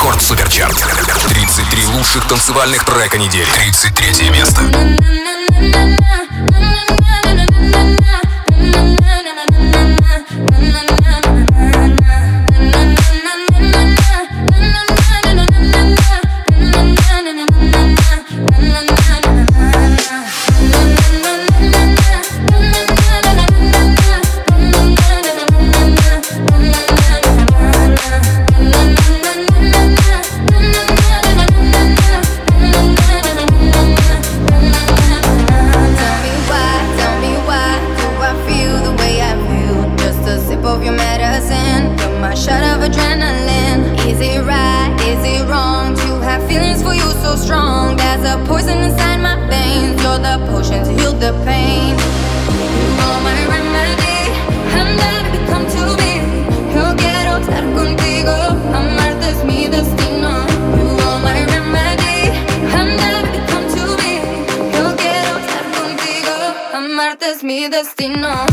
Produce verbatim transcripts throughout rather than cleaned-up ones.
Рекорд Суперчарт. тридцать три лучших танцевальных трека недели. тридцать третье место. Es mi destino.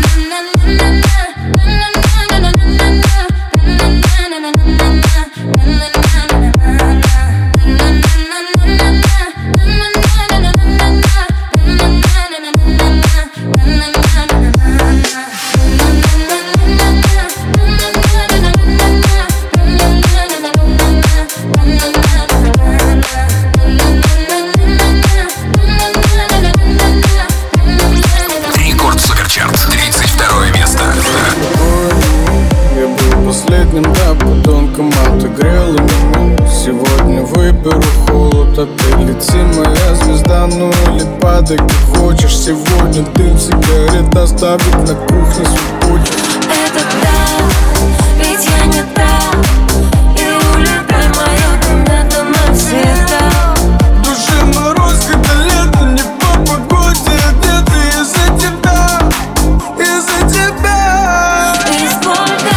Да, подонком отогрела меня. Сегодня выберу холод, а ты лети, моя звезда. Ну или падай, как хочешь. Сегодня дым сигарет оставить на кухне свой. Это да, ведь я не та. И улетай мою комнату навсегда. Душе мороз, когда лето, не по погоде. Где-то из-за тебя, из-за тебя. И сколько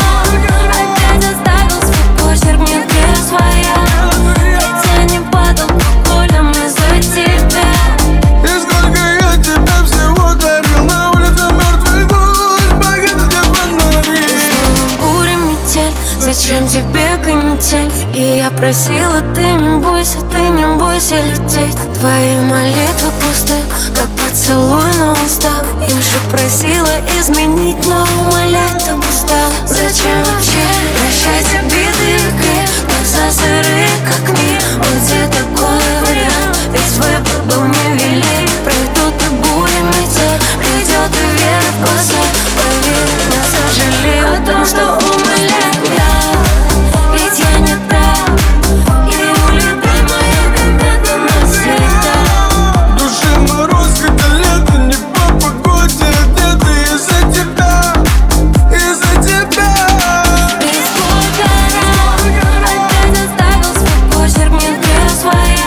опять оставил свой почерк, мне где своя. Ведь я не под алкоголем из-за тебя. И сколько я тебя всего дарил. На улице мертвый гуль, багет фонари. Буря, метель, зачем тебе канитель? И я просила, ты не бойся, ты не бойся лететь. Твои молитвы пусты, как поцелуй на устах. Я же просила изменить, но умолять там устал. Зачем вообще прощать обиды и грех? Глаза сырые, как мир, вот где такой вариант. Ведь выбор был невелик. Пройдут и бури, метель, придет и вера в глаза. Поверь, я сожалею о том, что умоляю. Да, ведь я не та. И улетай моя комната навсегда. Душе мороз, когда лето, не по погоде. Где-то из-за тебя, из-за тебя. И сколько раз опять оставил свой почерк, мне где своя.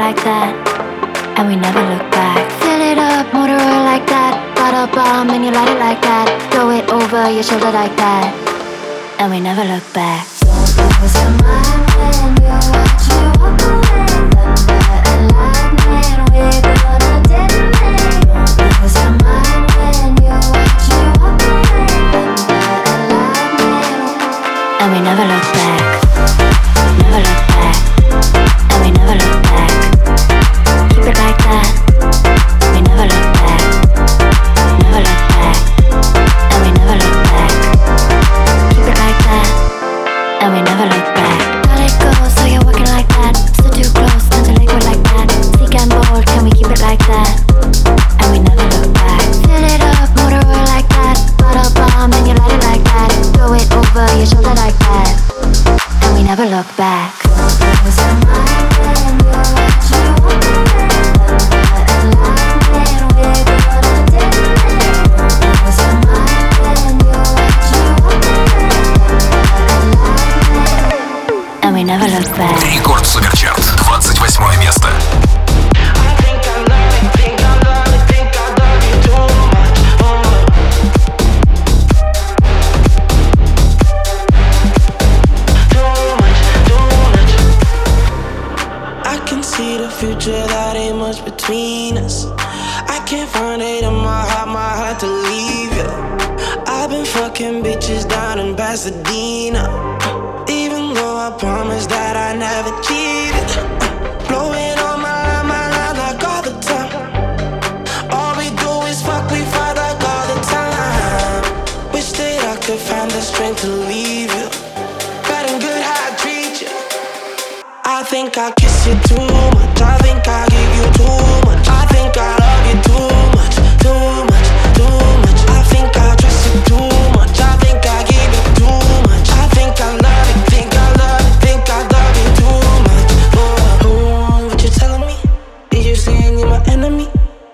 like that, and we never look back. Fill it up, motor oil like that. Bottle bomb and you light it like that. Throw it over your shoulder like that, and we never look back. Don't lose your mind when you watch me walk away. Thunder and lightning, we're gonna detonate. Don't lose your mind when you watch me walk away. Thunder and lightning, and we never look back. Never look back, and we never look back. Keep it like that. We never look back. Never look back, and we never look back. Keep it like that, and we never look back. Let it go, so you're walking like that. Still too close, turn to liquid like that. Sleek and bold, can we keep it like that? And we never look back. Fill it up, motor oil like that. Bottle bomb and you light it like that. Throw it over your shoulder like that, and we never look back. Lose your mind when you watch me walk away. Thunder and lightning, we're gonna detonate. Lose your mind when you watch me walk away. Thunder and lightning, and we never look back. Рекорд Суперчарт, двадцать восьмое место. See the future, that ain't much between us. I can't find it in my heart, my heart to leave you. I've been fucking bitches down in Pasadena, even though I promised that I never cheated. Blowing on my line, my line like all the time. All we do is fuck, we fight like all the time. Wish that I could find the strength to leave you. Bad and good how I treat you. I think I kiss you too much. I think I give you too much. I think I love you too much, too much, too much. I think I trust you too much. I think I give you too much. I think I love you, think I love you, think I love you too much. Oh, oh, what you telling me? Did you say you're my enemy?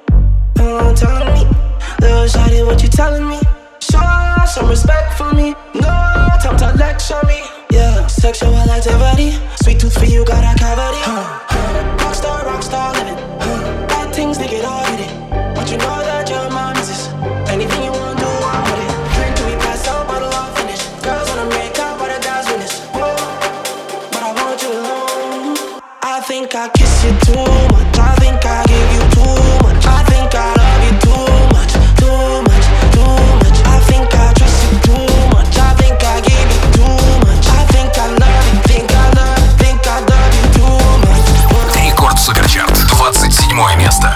Oh, telling me, little shawty, what you telling me? Show some respect for me. No time to lecture me. Yeah, sexual activity. Sweet tooth for you, got a cavity. Huh. Rockstar, rockstar living. Huh. Bad things, they get all hit it. But you know that your mom is this. Anything you want, do, I'm with it. Drink till we pass out, bottle all finish. Girls wanna make out, but the guys win this. Whoa, but I want you alone. I think I kiss you too much. I think I give you too much. I think I love you too much, too much, too much. I think I trust you too much. I think I give you too much. I think I love you, think I love you, think I love you too much. Рекорд Суперчарт, двадцать седьмое место.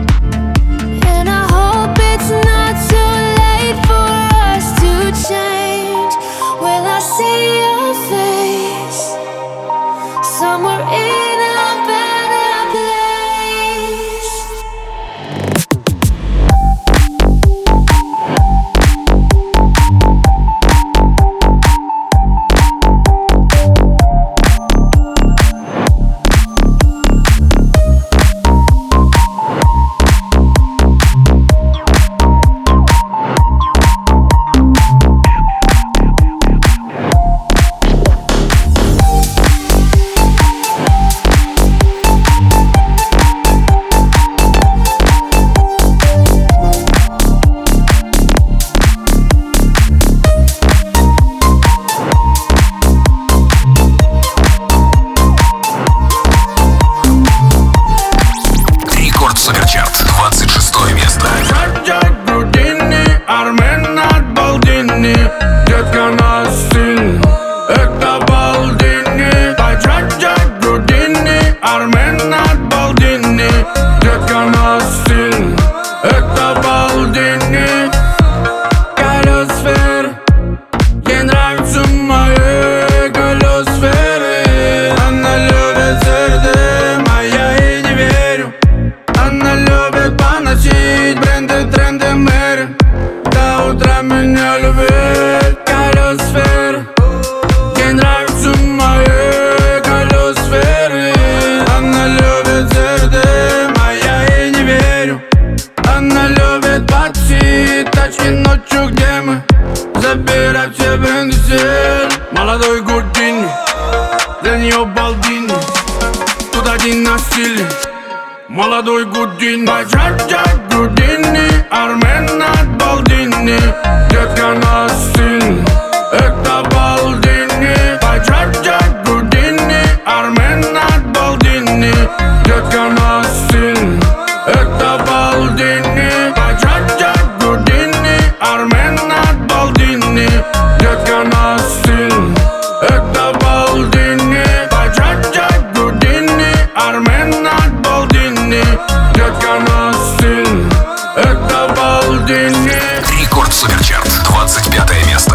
change. она меня любит. Калиосфера, ей нравится мои калиосферы. Она любит зерды, а я ей не верю. Она любит пати, тачки ночью, где мы забирать все бренды стиль. Молодой Гудини, для нее балдини. Тут один на стиле, молодой Гудини. Баджаджа Гудини, Армен от Балдини. Детка на стиле, это Балдини. Баджаджа Гудини, Армен от Балдини. Детка на стиле, это Балдини. Баджаджа Гудини, Армен от Балдини. Детка на стиле, это Балдини. Баджаджа Гудини, Армен от Балдини. Детка на стиле, это Балдини. Рекорд Суперчарт, двадцать пятое место.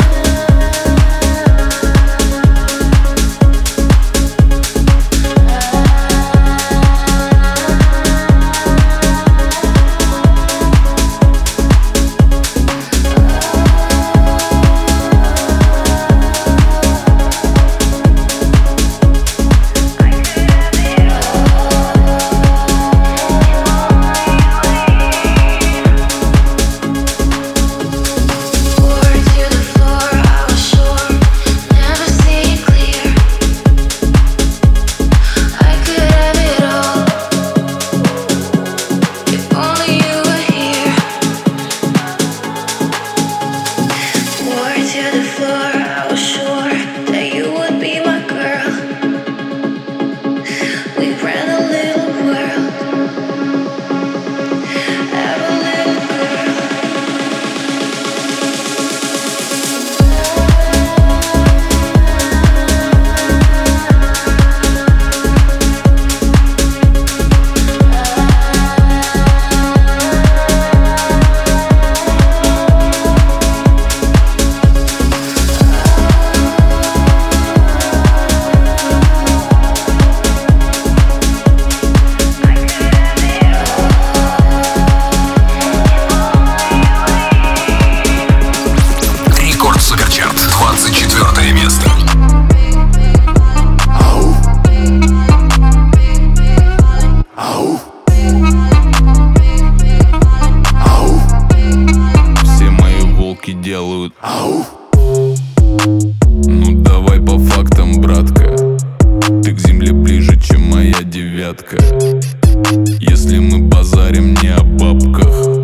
Если мы базарим не о бабках,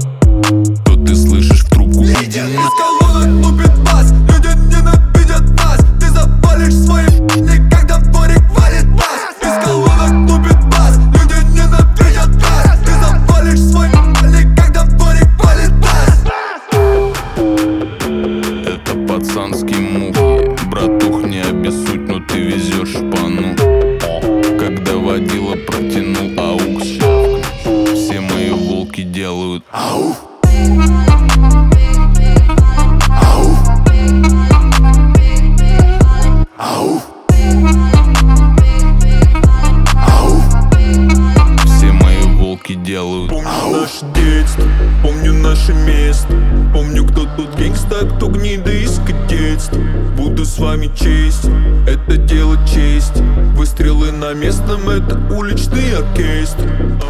то ты слышишь в трубку: иди на. Из колонок лупит бас, люди ненавидят нас. Ты запалишь свои п***ли, когда дворик валит бас. Из колонок лупит бас, люди ненавидят нас. Ты запалишь свои п***ли, когда дворик валит бас. Это пацанский мух, братух, не обессудь, но ты везешь шпану. Когда водила протянул аукс, все мои волки делают ау. Ау. Ау. Ау. Все мои волки делают Помню ау. Наше детство, помню наше место. Помню, кто тут гангста, кто гнида из кадетства. Буду с вами честен, это дело чести. Выстрелы на местном, это уличный оркестр.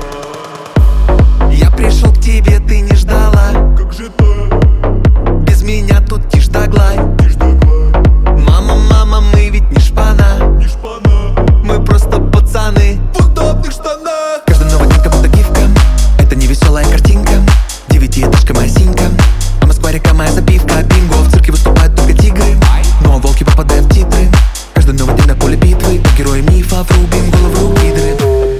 Я пришел к тебе, ты не ждала. Как же так? Без меня тут тишь да гладь. Тишь да гладь. Мама, мама, мы ведь не шпана. Не шпана. Мы просто пацаны В удобных штанах. Каждый новый день как будто гифка. Это не веселая картинка. Девятиэтажка моя синька. А Москва река моя запивка. Бинго, в цирке выступают только тигры. Но волки попадают в титры. Каждый новый день на поле битвы. По героям мифа врубим голову гидры.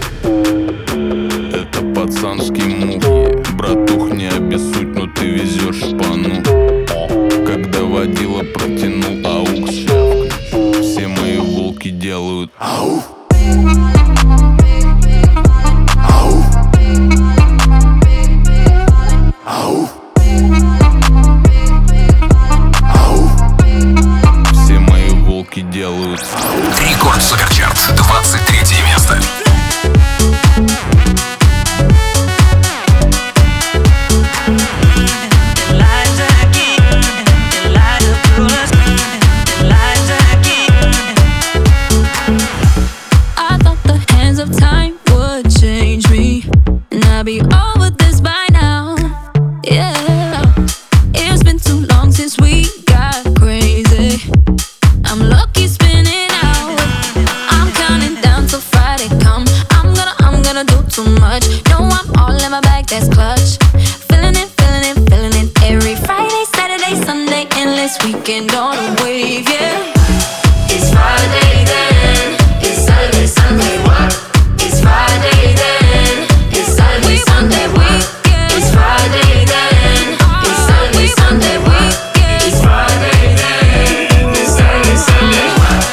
это пацанский мух, братух, не обессудь, но ты везешь шпану. Когда водила протянул аукс, все мои волки делают ау. Ау. Ау. Ау. Все мои волки делают ау. Рекорд Суперчарт, двадцать третье место. Lights weekend on a wave, yeah. It's Friday then, it's Saturday, Sunday, what? It's Friday then, it's Saturday, Sunday, what? It's Friday then, it's Saturday, Sunday, what? It's Friday then, it's Saturday, Sunday, what?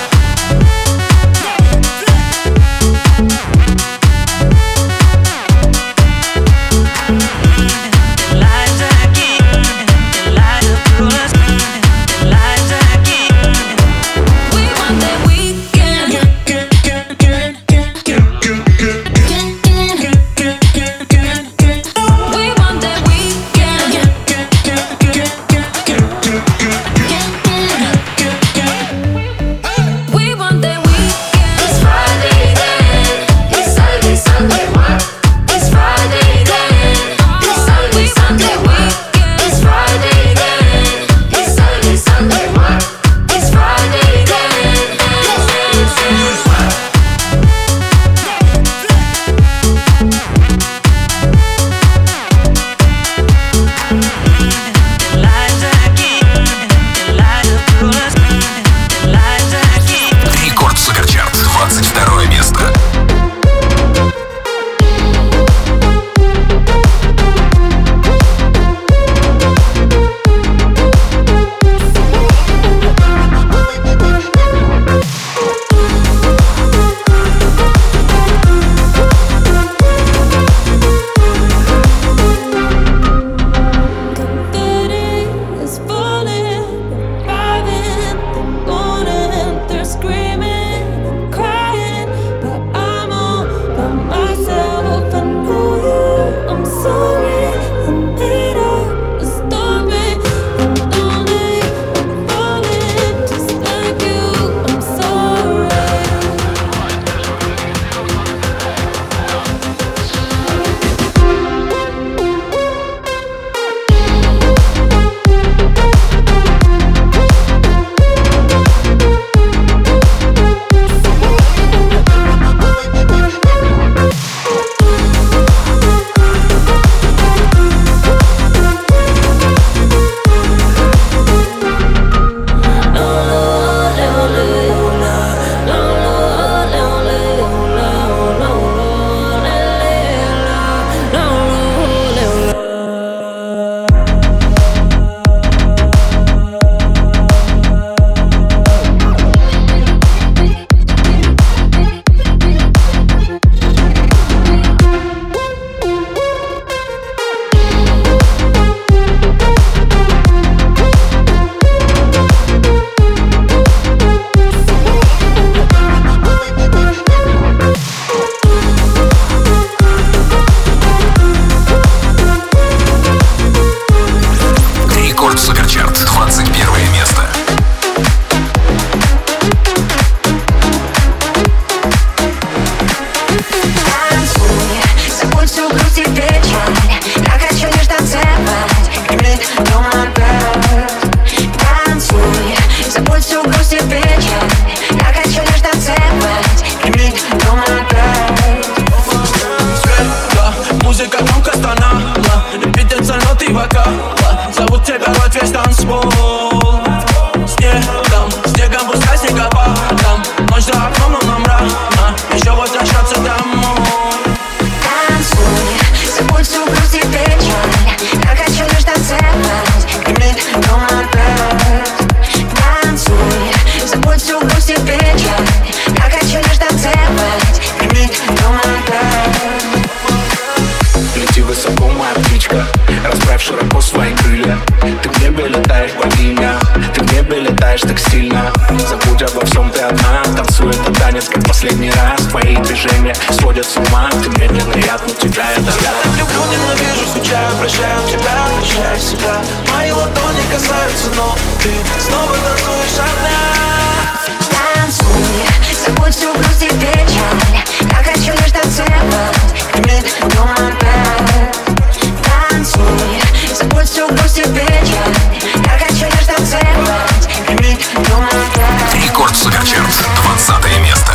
Рекорд Суперчарт, двадцатое место.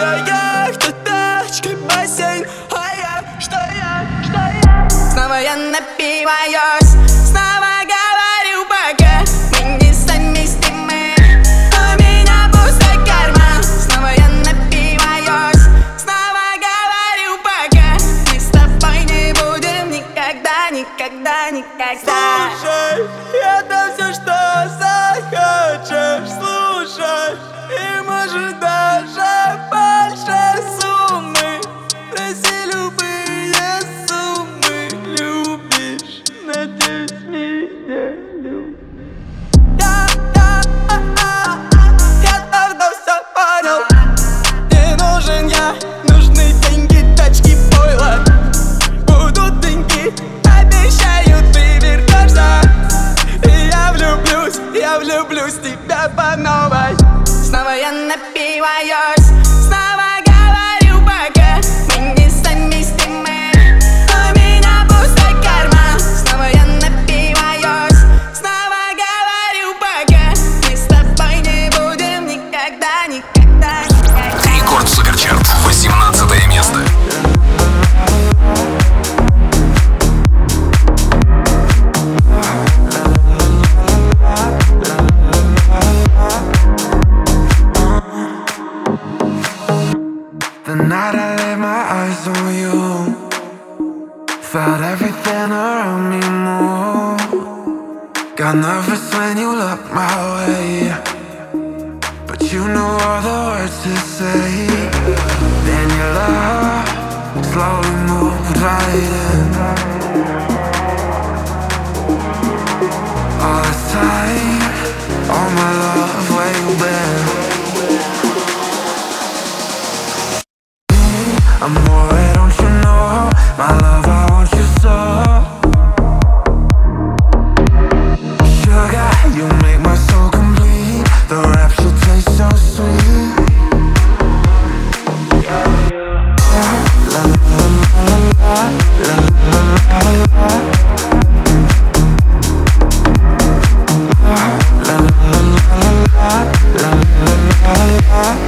Твоя яхта, тачка, бассейн, а я, что я, что я? Снова я напиваюсь, снова говорю пока мы не совместимы. У меня пустой карман. Снова я напиваюсь, снова говорю пока мы с тобой не будем никогда, никогда, никогда. Слушай, это все, что захочешь слушать, и может даже больше суммы. Проси любые суммы, любишь, надеюсь, меня любишь. Я, я, а, а, я давно все понял. Не нужен я, нужны деньги, тачки, пойло. Будут деньги, обещаю, ты вернешься. И я влюблюсь, я влюблюсь в тебя по новой. Снова я напиваюсь, снова говорю пока мы не совместимы. У меня пустой карман. Снова я напиваюсь, снова говорю пока мы с тобой не будем никогда, никогда, никогда. Рекорд Суперчарт, восемнадцатое место. The night I laid my eyes on you, felt everything around me move. Got nervous when you looked my way, but you knew all the words to say. Then your love slowly moved right in. All this time, all my love, where you been? Amore, don't you know, my love, I want you so. Sugar, you make my soul complete. The rapture tastes so sweet. La la la la la la la la. La la la la la la.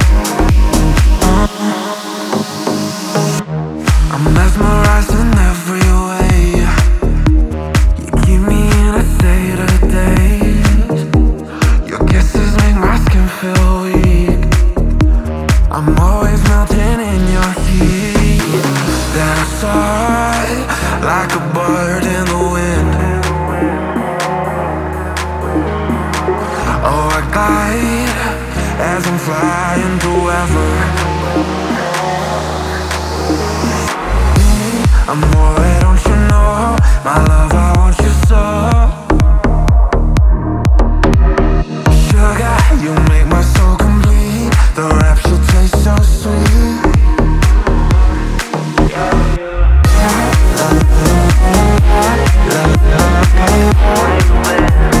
I'm mesmerized in every way. You keep me in a state of daze. Your kisses make my skin feel weak. I'm always melting in your heat. Then I soar like a bird in the wind. Oh, I glide as I'm flying through ever. Amore, don't you know, my love, I want you so. Sugar, you make my soul complete. The rapture tastes so sweet. La la la la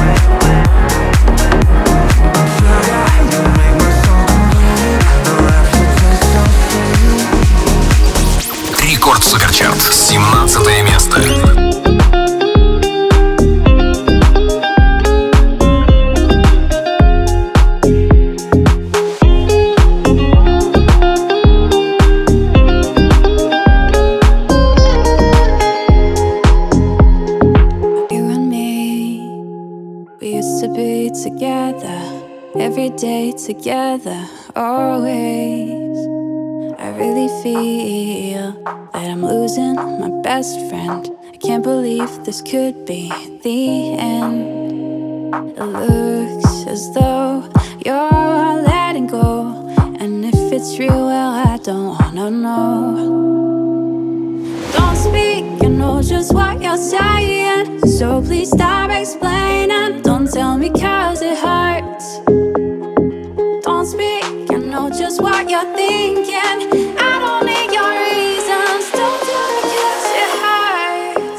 Sugar, you make my soul complete. The rapture tastes so sweet. Рекорд Суперчарт, семнадцатое место. Every day together, always. I really feel that I'm losing my best friend. I can't believe this could be the end. It looks as though you're letting go, and if it's real, well, I don't wanna know. Don't speak, I know just what you're saying, so please stop explaining. Don't tell me 'cause it hurts. Don't speak, I know just what you're thinking. I don't need your reasons. Don't do it 'cause it hurts.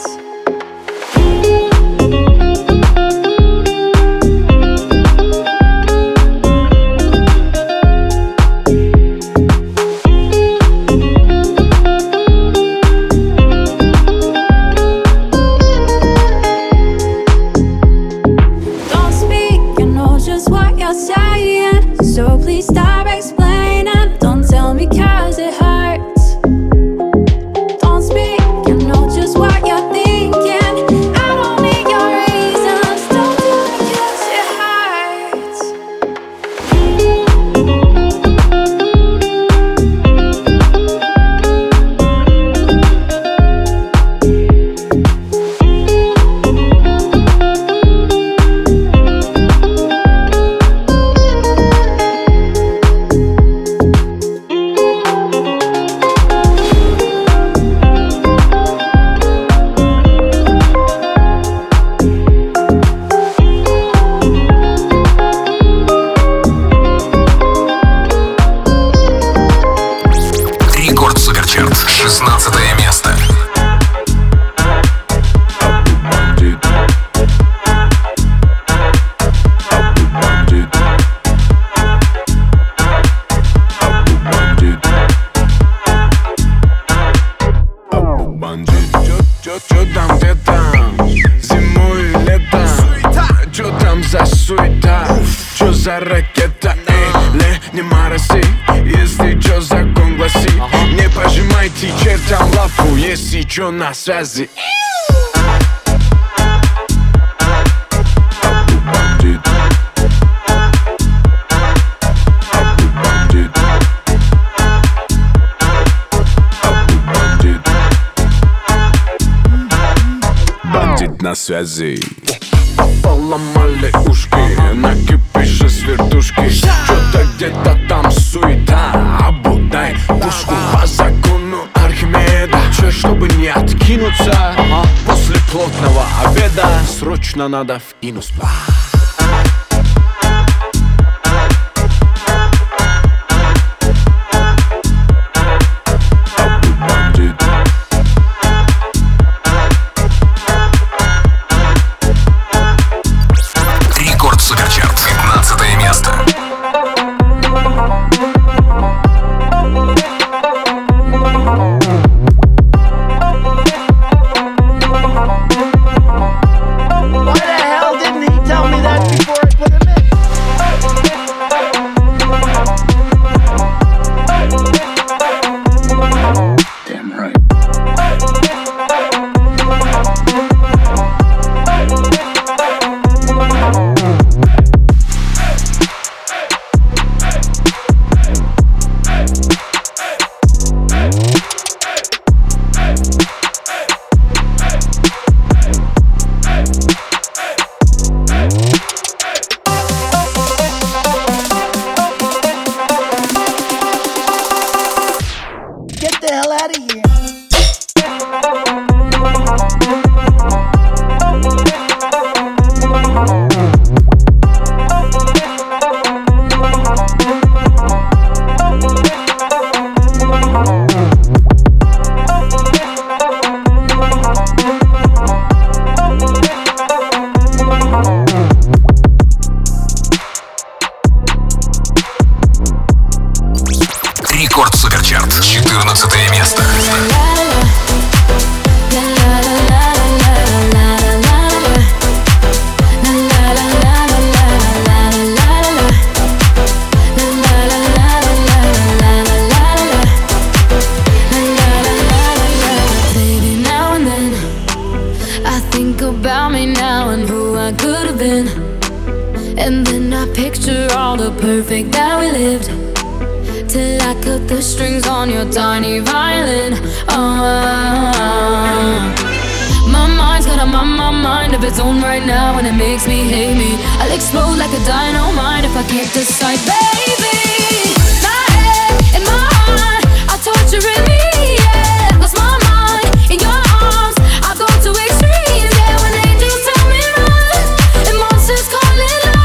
Don't speak, I know just what you're saying, so please stop explaining. Don't tell me 'cause это ракета. Эй, ле, не мороси, если чё, закон гласит. Не пожимайте чертям лапу, если чё, на связи. Бандит на связи. Поломали ушки, накипишь с вертушки. Что-то где-то там суета, обудай пушку по закону Архимеда. Че, чтобы не откинуться, после плотного обеда срочно надо вкинуть. пятнадцатое место. Рекорд Суперчарт, четырнадцатое место. And then I picture all the perfect that we lived, till I cut the strings on your tiny violin. Oh, my mind's got a my, my mind of its own right now, and it makes me hate me. I'll explode like a dynamite if I can't decide, baby. My head and my heart are torturing me, yeah. Lost my mind in your arms, I go to extremes, yeah. When angels tell me run, and monsters call it love.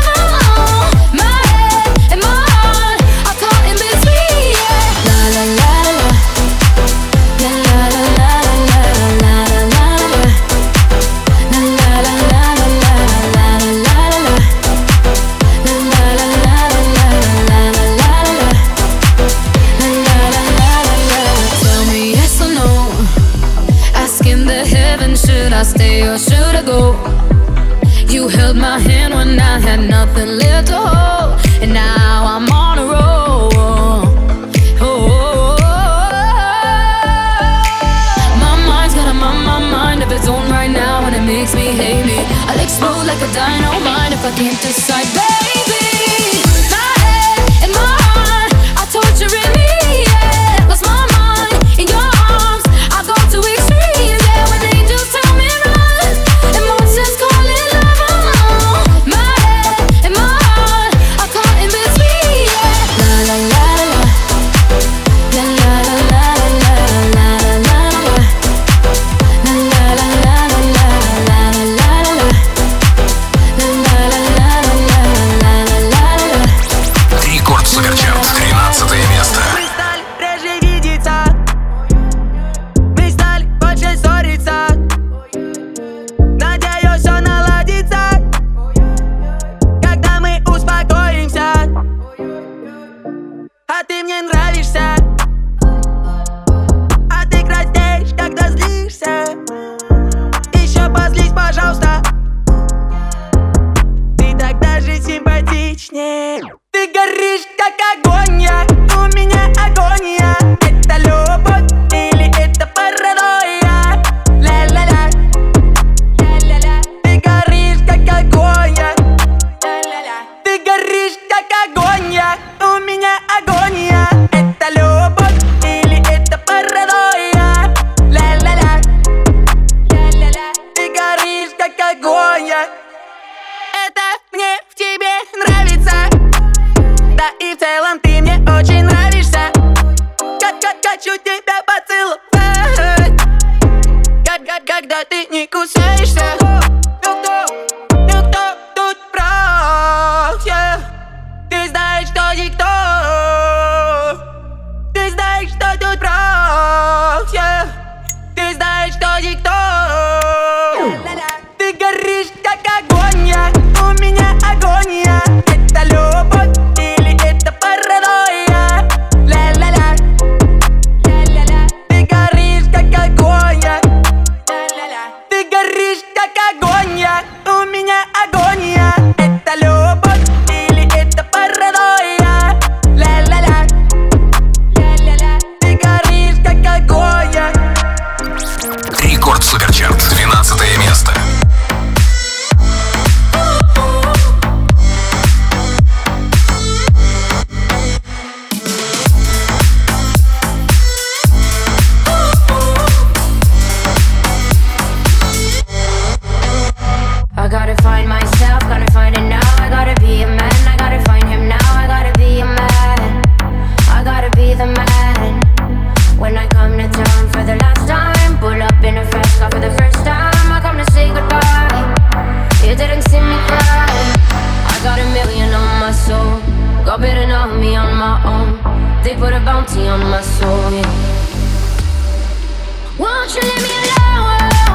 I stay or should I go? You held my hand when I had nothing left to hold, and now I'm on a roll. Oh, my mind's got a my, my mind of its own right now, and it makes me hate me. I'll explode like a dynamite if I can't decide, baby. My head and my heart are torturing me, yeah. Lost my mind in your arms, I go to extremes, yeah. When angels tell me run, and monsters call it love. My head and my heart are caught in between, yeah. La la la la, la la la la la la la la, la la la la la la la la la, la la la la la la la. что тут прав, yeah. Ты знаешь, кто никто. Ты горишь, как огонь, я. У меня агония. Это любовь или это паранойя? Ля-ля-ля, ля-ля-ля. Ты горишь, как огонь, я. Ты горишь, как огонь, я. У меня агония. Это любовь или это паранойя? Ля-ля-ля, ля-ля-ля. Ты горишь, как огонь, я. Рекорд Суперчарт, двенадцатое место. I gotta find myself, gotta find it now. I gotta be a man, I gotta find him now. I gotta be a man, I gotta be the man. When I come to town for the last time, pull up in a fast car for the first time. I come to say goodbye, you didn't see me cry. I got a million on my soul, got better know me on my own. They put a bounty on my soul, yeah. Won't you leave me alone?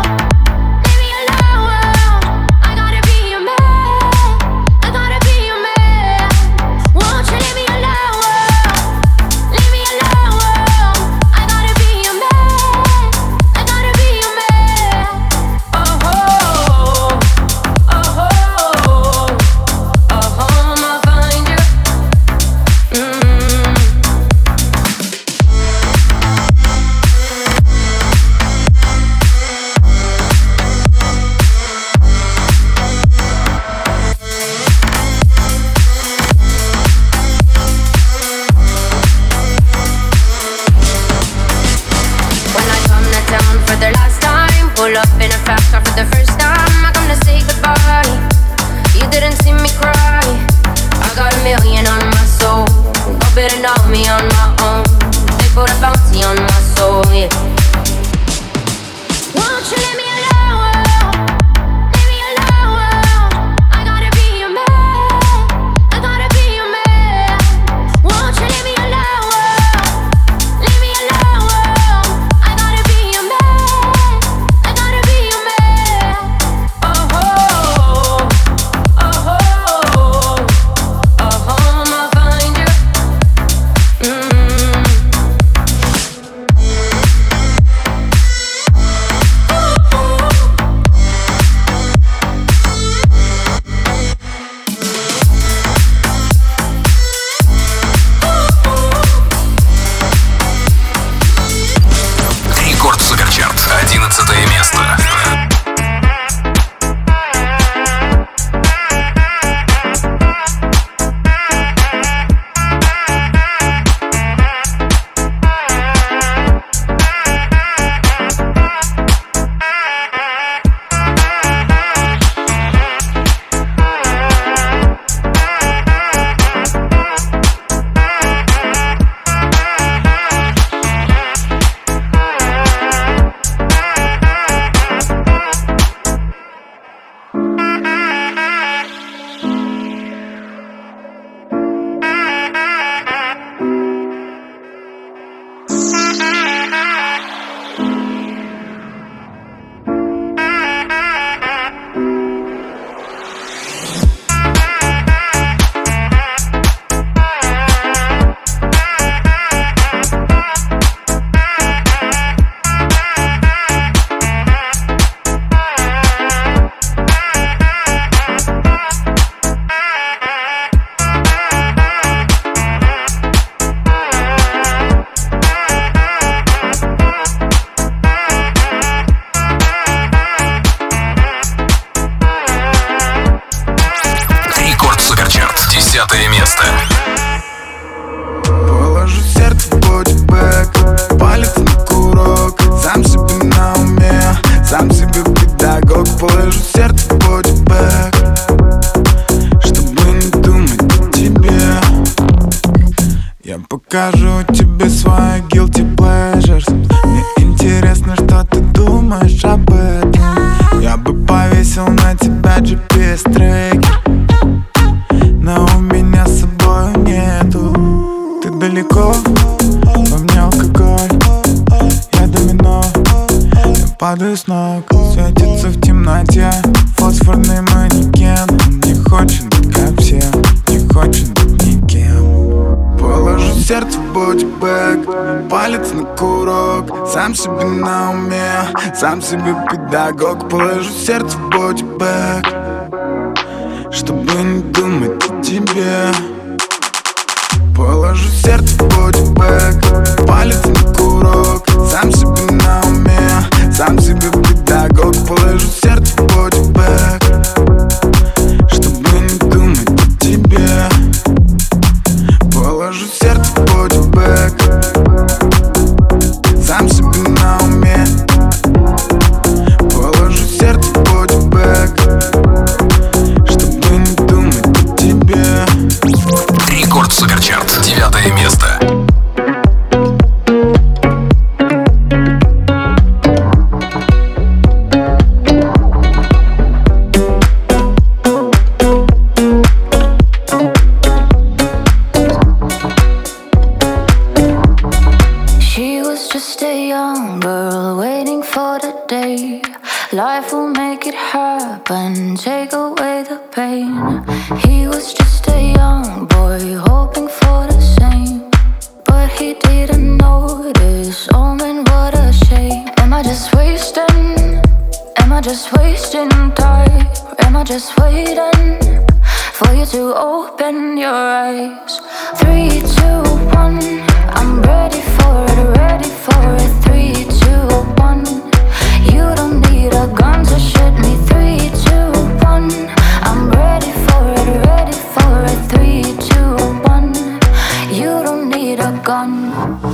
Десятое место. Положу сердце в бодибэк, палец на курок, сам себе на уме, сам себе педагог. Положу сердце в бодибэк, чтобы не думать о тебе. Я покажу тебе свои guilty pleasures. Мне интересно, что ты думаешь об этом. Я бы повесил на тебя джи пи эс-трекер, но у меня с собой нету. Ты далеко, во мне алкоголь. падаю с ног. Светится в темноте фосфорный манекен. Он не хочет быть как все, не хочет быть никем. Положу сердце в бодибэк, палец на курок. Сам себе на уме, сам себе педагог. Положу сердце в бодибэк, чтобы не думать о тебе. Положу сердце в бодибэк, палец на курок. Сам себе на уме, сам себе педагог. Положу сердце в бодибэк, чтобы не думать о тебе. Положу сердце в бодибэк, сам себе на уме. Положу сердце в бодибэк, чтобы не думать о тебе. Рекорд Суперчарт, девятое место. She was just a young girl waiting for the day life will make it happen, take away the pain. He was just a young boy hoping for the same, but he didn't notice. Oh man, what a shame. Am I just wasting? Am I just wasting time? Am I just waiting for you to open your eyes? Three, two, one. I'm ready for it, ready for it. Three, two, one. You don't need a gun to shoot me. Three, two, one. I'm ready for it, ready for it. Three, two, one. You don't need a gun.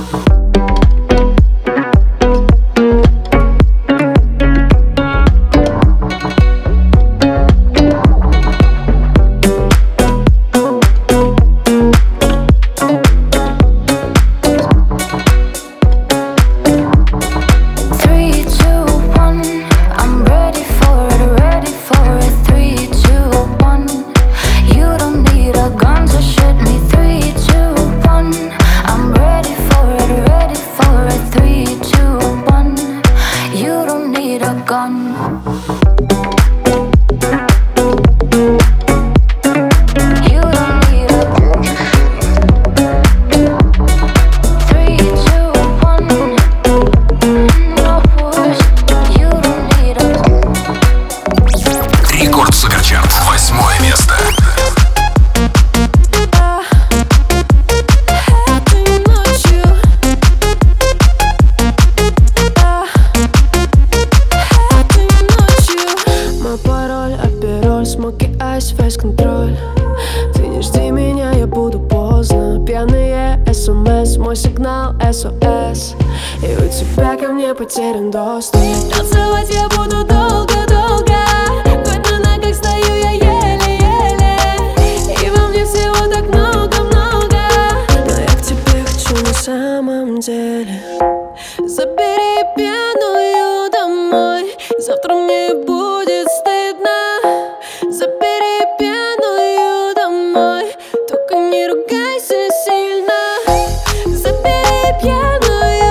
Потерян доступ. Танцевать я буду долго-долго. Хоть на ногах стою я еле-еле. И во мне всего так много-много. Но я к тебе хочу на самом деле. Забери пьяную домой. Завтра мне будет стыдно. Забери пьяную домой. Только не ругайся сильно. Забери пьяную.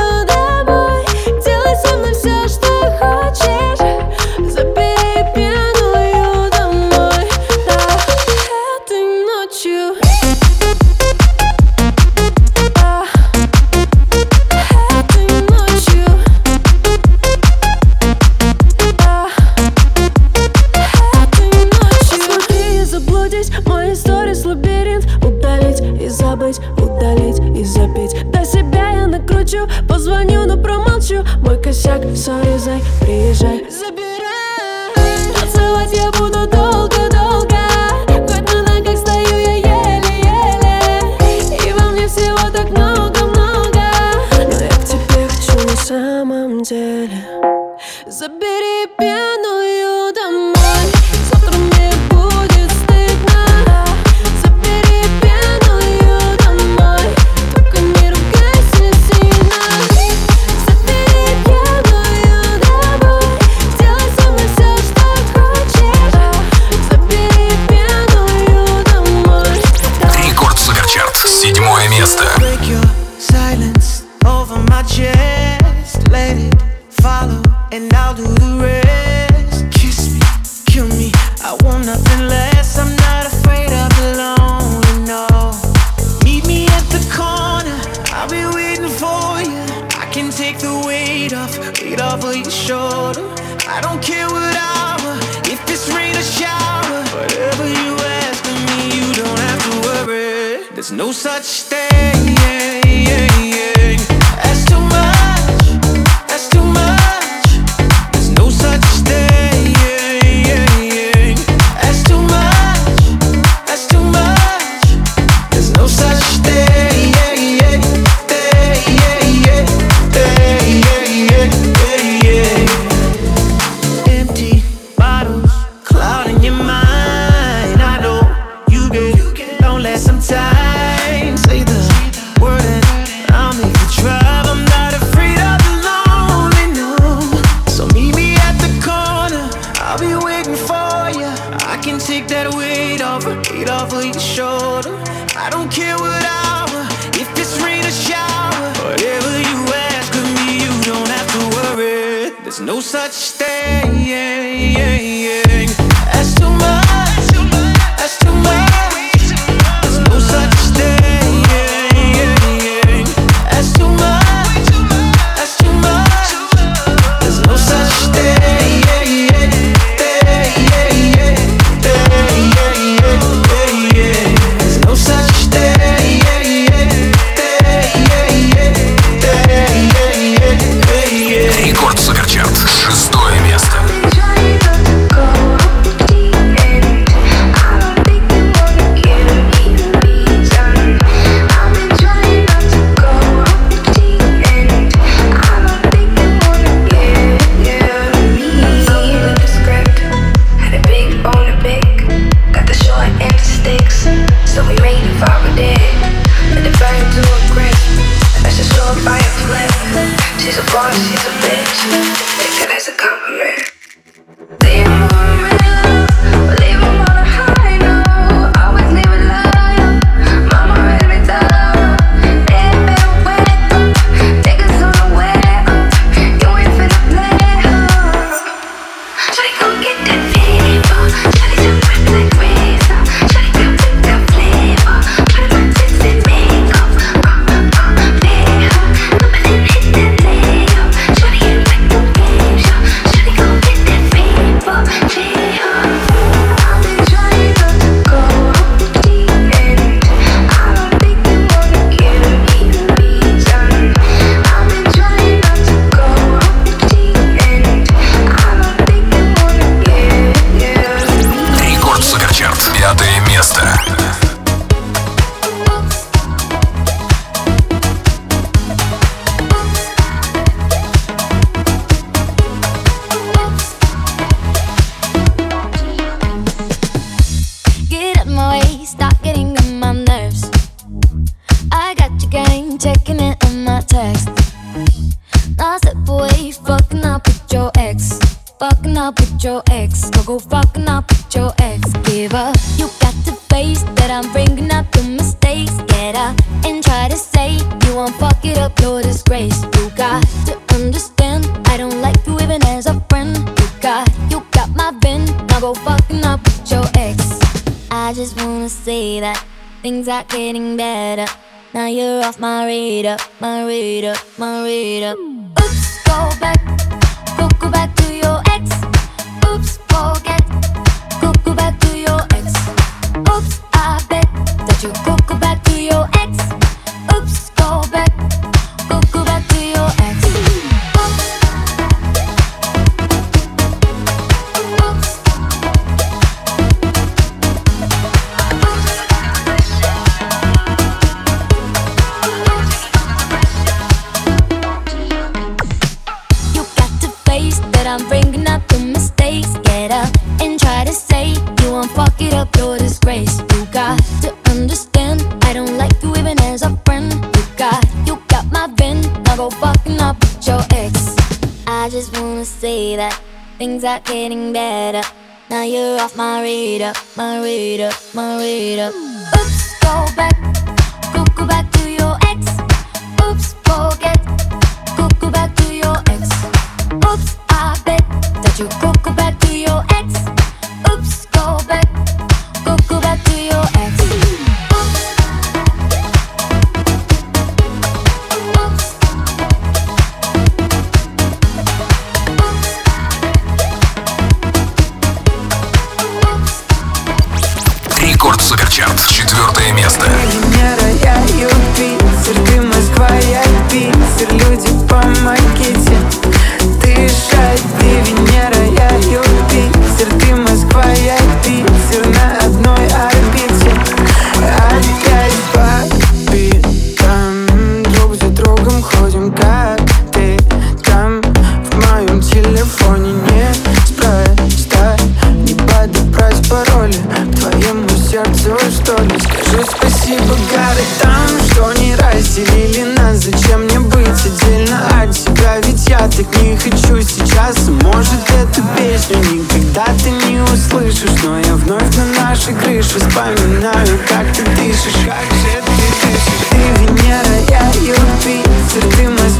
Удалить и забить. До себя я накручу. Позвоню, но промолчу. Мой косяк, сорезай, приезжай, забирай. Танцевать я буду долго-долго. Хоть на ногах стою я еле-еле. И во мне всего так много-много. Но я к тебе хочу на самом деле. Забери пьяную домой. Завтра мне будет стыдно. Забери пьяную домой. Только не ругайся сильно. Забери пьяную домой. Сделай со мной все, что хочешь. Забери пьяную домой. Рекорд Суперчарт, седьмое место. Break your silence over my chest. Let it follow and I'll do the rest. Kiss me, kill me, I want nothing less. I'm not afraid of the lonely, no. Meet me at the corner, I'll be waiting for you. I can take the weight off, weight off of your shoulder. I don't care what hour, if it's rain or shower. Whatever you ask of me, you don't have to worry. There's no such thing as too much, that's too much. There's no such thing as too much, that's too much. There's no such thing. Empty bottles, clouding your mind. I know you get lonely sometimes. Say the word and I'll make you drive. I'm not afraid of the lonely, no. So meet me at the corner, I'll be waiting for you. I can take that weight off, weight off of your shoulder. I don't care what hour, if it's rain or shower. Whatever you ask of me, you don't have to worry. There's no such thing as too much, that's too much. There's no such thing as too much, that's too much. There's no such thing. There's no such thing. Рекорд Суперчарт, шестое место. So we made it far with it. Let it burn to a crisp. That's just so fire flip. She's a boss, she's a bitch. Take that as a compliment. Leave him on real, but leave him on a high note. Always leave it loyal. Mama read me thorough. Dead better wet up. Niggas on the way up. You ain't finna play up. Shawty gon' get that fever. Shawty jump right like razor. Shawty gon' whip that flavor. Put it on tits and makeup. Uh, uh, play her. Nobody hit that layup. Shawty ain't like the game show. Shawty gon' get that fever. Play her. I've been trying not to go off the end. I don't think they wanna give me a reason. I've been trying not to go off the end. I don't think they wanna give me a reason. Рекорд Суперчарт, пятое место. Get out my way, stop getting on my nerves. I got your gang checking in on my text. Now step away, fucking up with your ex. Fucking up with your ex. Go go fucking up with your ex. Give up. You got to face that I'm bringing up your mistakes. Get up and try to say you won't fuck it up, your disgrace. You got to understand I don't like you even as a friend. You got, you got my bin. Now go fucking up with your ex. I just wanna say that things are getting better. Now you're off my radar, my radar, my radar. Oops, go back, go go back to your ex. Oops, forget, go go back to your ex. Oops, I bet that you go go back to your ex. Oops, go back, go go back to your ex. Oops, oops. You got to face that I'm bringing up the mistakes. Get up and try to say you won't fuck it up, your disgrace. You got to understand I don't like you even as a friend. You got, you got my bin. Now go fucking up with your ex. I just wanna say that things are getting better. Now you're off my radar, my radar, my radar. Oops, go back, go go back to your ex. Oops, forget, go go back to your ex. Oops, I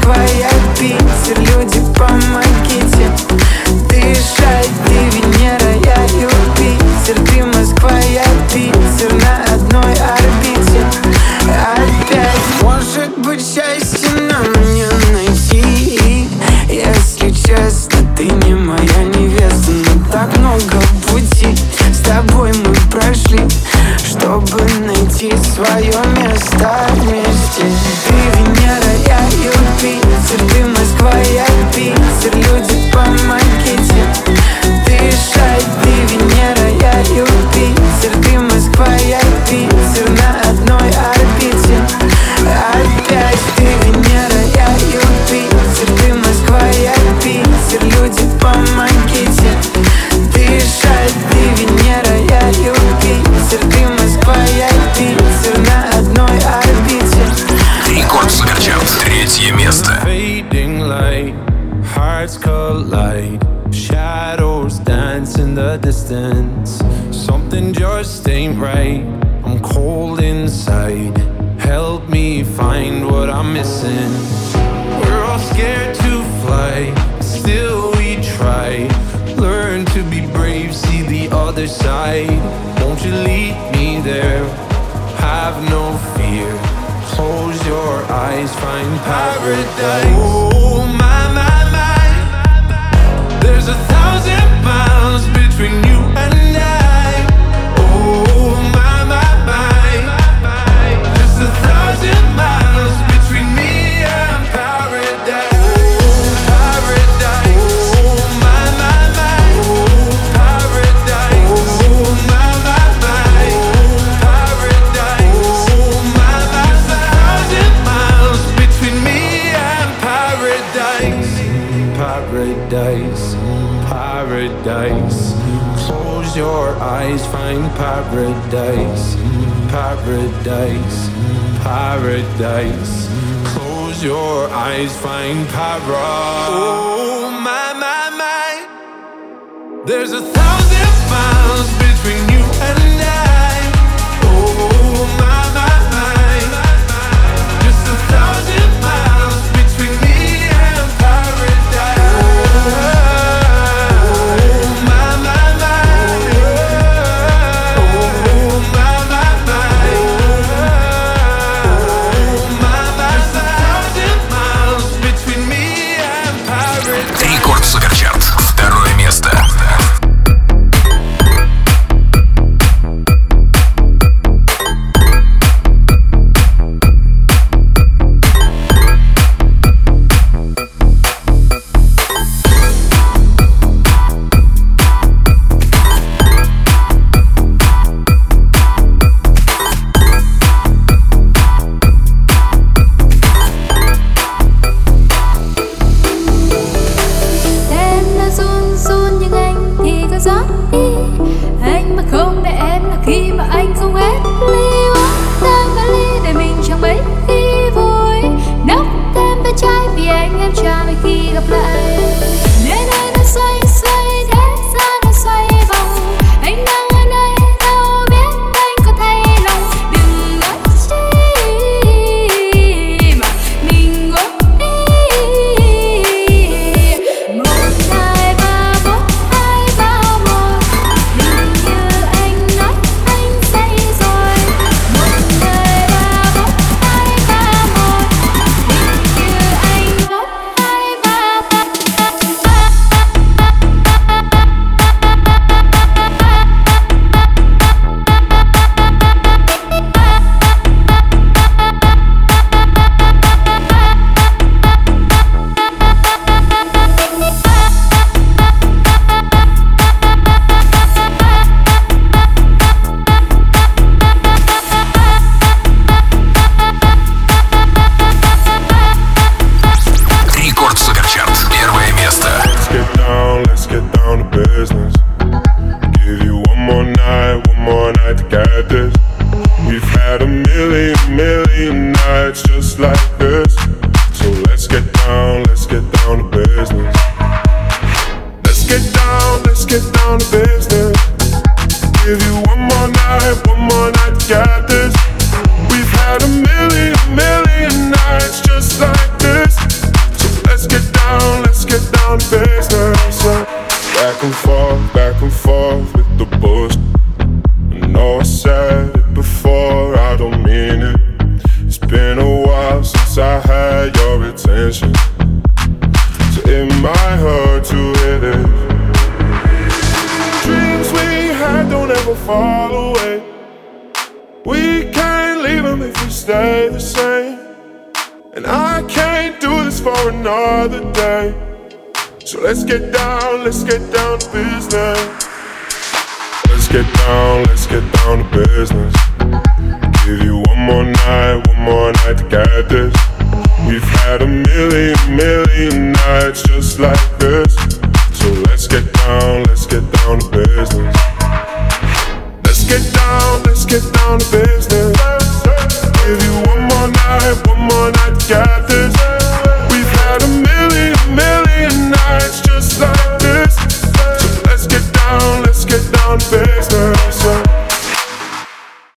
Москва, я Питер, люди, помогите дышать. Ты Венера, я Юпитер, ты Москва, я Питер, на одной орбите опять. Может быть, счастье нам не найти, если честно, ты не моя невеста. Но так много пути с тобой мы прошли, чтобы найти свое место вместе. Ты Венера, я Юпитер, ты Москва, я Питер, люди, помогите дышать. Ты Венера, я Юпитер, ты Москва, я Питер, на одной орбите опять. Ты Венера, я Юпитер, ты Москва, я Питер, люди, помогите дышать. Ты Венера, я Юпитер, ты Москва, я Питер, на одной орбите. Рекорд Суперчарт, третье место. Fading light, hearts collide, shadows dance in the distance. Something just ain't right, I'm cold inside. Help me find what I'm missing. We're all scared to fly, still we try. Learn to be brave, see the other side. Won't you lead me there? Have no fear. Close your eyes, find paradise. Oh my, my, my. There's a thousand miles between you and I. Oh my, my, my. Just a thousand miles between me and paradise. Oh, paradise. Oh my, my, my. Oh, paradise. Oh my, my, my. Oh, paradise. Oh my, my, my. Thousand miles between me and paradise. Paradise, paradise. Close your eyes, find paradise. Paradise, paradise. Close your eyes, find paradise. Oh my, my, my. There's a thousand miles between you and I. Oh my, my, my. Just a thousand miles between me and paradise. Oh my, my, my. Oh my, my, my. Oh my, my, my. Thousand miles between me and paradise. Рекорд Суперчарт, второе место. Em đã run run nhưng anh thì có gió đi. Anh mà không để em là khi mà anh không hết ly uống tan vali để mình chẳng mấy khi vui. Nốc thêm bé trai vì anh em chả mấy khi gặp lại. Nên anh đã xoay xoay thế gian đã xoay vòng. Anh đang ở nơi đâu biết anh có thay lòng. Đừng nói chi mà mình ngốc đi. Một hai ba bốn hai ba một. Hình như anh nói anh say rồi. Một hai ba bốn hai ba một. Hình như anh bốn hai ba ba. Рекорд Суперчарт, первое место. Let's get down, let's get down to business. Give you one more night, one more night to get this. We've had a million, million nights just like this. So let's get down, let's get down to business. Let's get down, let's get down to business. Give you one more night, one more night to get this. We've had a million, million nights just like this. wait to hear this. Dreams we had don't ever fall away. We can't leave them if we stay the same. And I can't do this for another day. So let's get down, let's get down to business. Let's get down, let's get down to business. Give you one more night, one more night to get this. We've had a million, million nights just like this. So let's get down, let's get down to business. Let's get down, let's get down to business. Give you one more night, one more night to get this.